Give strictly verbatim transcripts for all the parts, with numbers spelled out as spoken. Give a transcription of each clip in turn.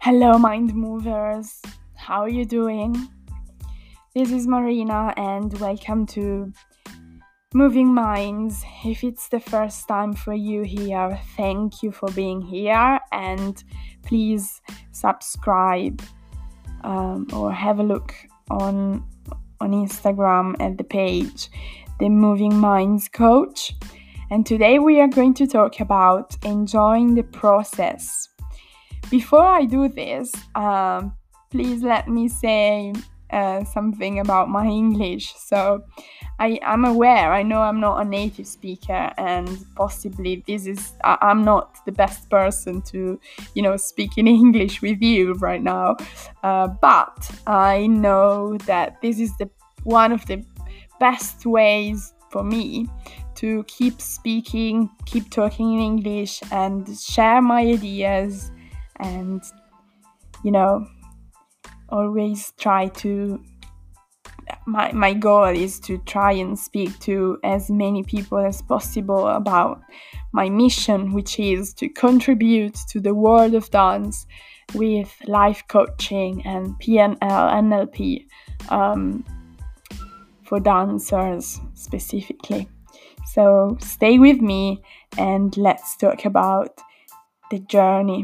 Hello, mind movers. How are you doing? This is Marina, and welcome to Moving Minds. If it's the first time for you here, thank you for being here, and please subscribe um, or have a look on on Instagram at the page, The Moving Minds Coach. And today we are going to talk about enjoying the process. Before I do this, um, please let me say uh, something about my English. So I am aware, I know I'm not a native speaker, and possibly this is, I, I'm not the best person to, you know, speak in English with you right now. Uh, but I know that this is the one of the best ways for me to keep speaking, keep talking in English, and share my ideas. And, you know, always try to, my, my goal is to try and speak to as many people as possible about my mission, which is to contribute to the world of dance with life coaching and P N L, N L P, um, for dancers specifically. So stay with me and let's talk about the journey.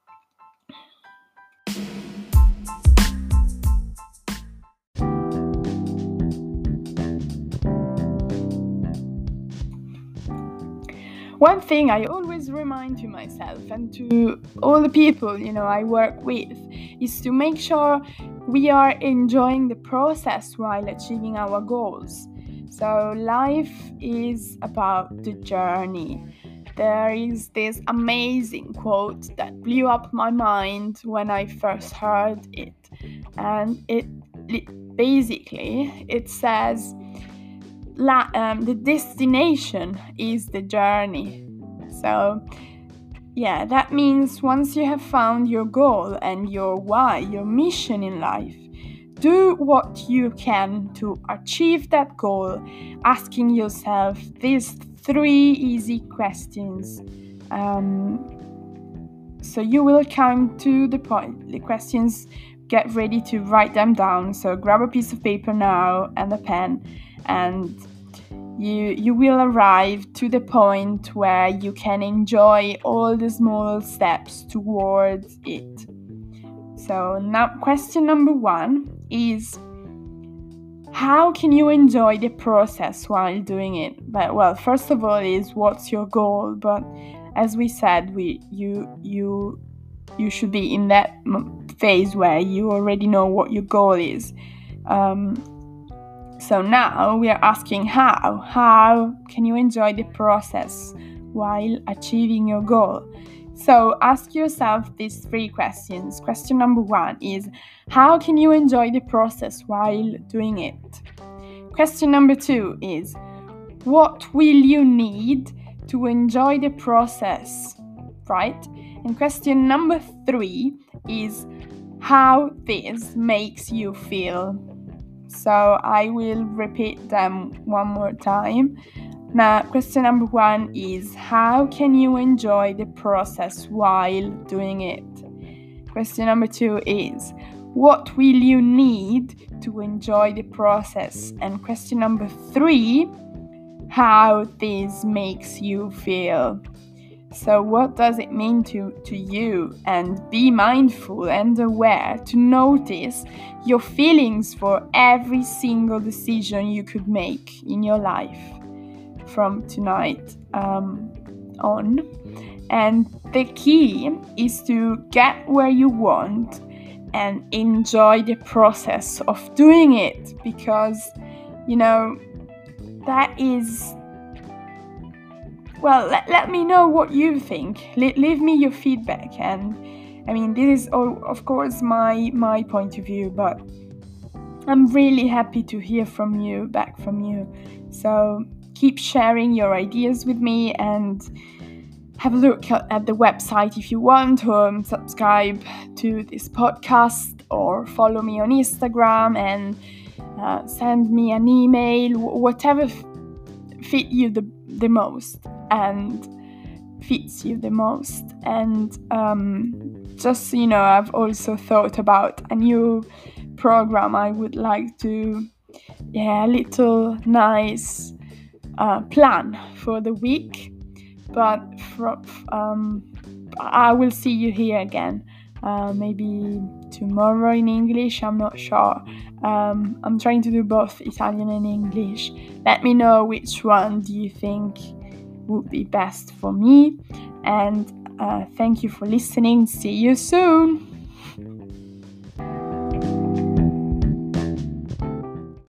One thing I always remind to myself and to all the people, you know, I work with is to make sure we are enjoying the process while achieving our goals. So life is about the journey. There is this amazing quote that blew up my mind when I first heard it. And it, it basically, it says, La, um, the destination is the journey. So yeah, that means once you have found your goal and your why, your mission in life, do what you can to achieve that goal, asking yourself these three easy questions. Um, so you will come to the point. The questions, get ready to write them down. So grab a piece of paper now and a pen, and you you will arrive to the point where you can enjoy all the small steps towards it. So now question number one is, how can you enjoy the process while doing it? But well, first of all is, what's your goal? But as we said, we you you you should be in that phase where you already know what your goal is. Um, So now we are asking how. How can you enjoy the process while achieving your goal? So ask yourself these three questions. Question number one is, how can you enjoy the process while doing it? Question number two is, what will you need to enjoy the process, right? And question number three is, how this makes you feel. So I will repeat them one more time. Now, question number one is, how can you enjoy the process while doing it? Question number two is, what will you need to enjoy the process? And question number three, how this makes you feel. So what does it mean to, to you? And be mindful and aware to notice your feelings for every single decision you could make in your life from tonight um, on. And the key is to get where you want and enjoy the process of doing it, because, you know, that is... Well, let, let me know what you think. Le- leave me your feedback. And I mean, this is, all, of course, my, my point of view, but I'm really happy to hear from you, back from you. So keep sharing your ideas with me, and have a look at the website if you want, or subscribe to this podcast, or follow me on Instagram, and uh, send me an email, whatever f- fit you the, the most and fits you the most. And um, just, you know, I've also thought about a new program I would like to, yeah, a little nice uh, plan for the week. But from, um, I will see you here again, uh, maybe tomorrow in English, I'm not sure. Um, I'm trying to do both Italian and English. Let me know which one do you think would be best for me. And uh, thank you for listening. See you soon.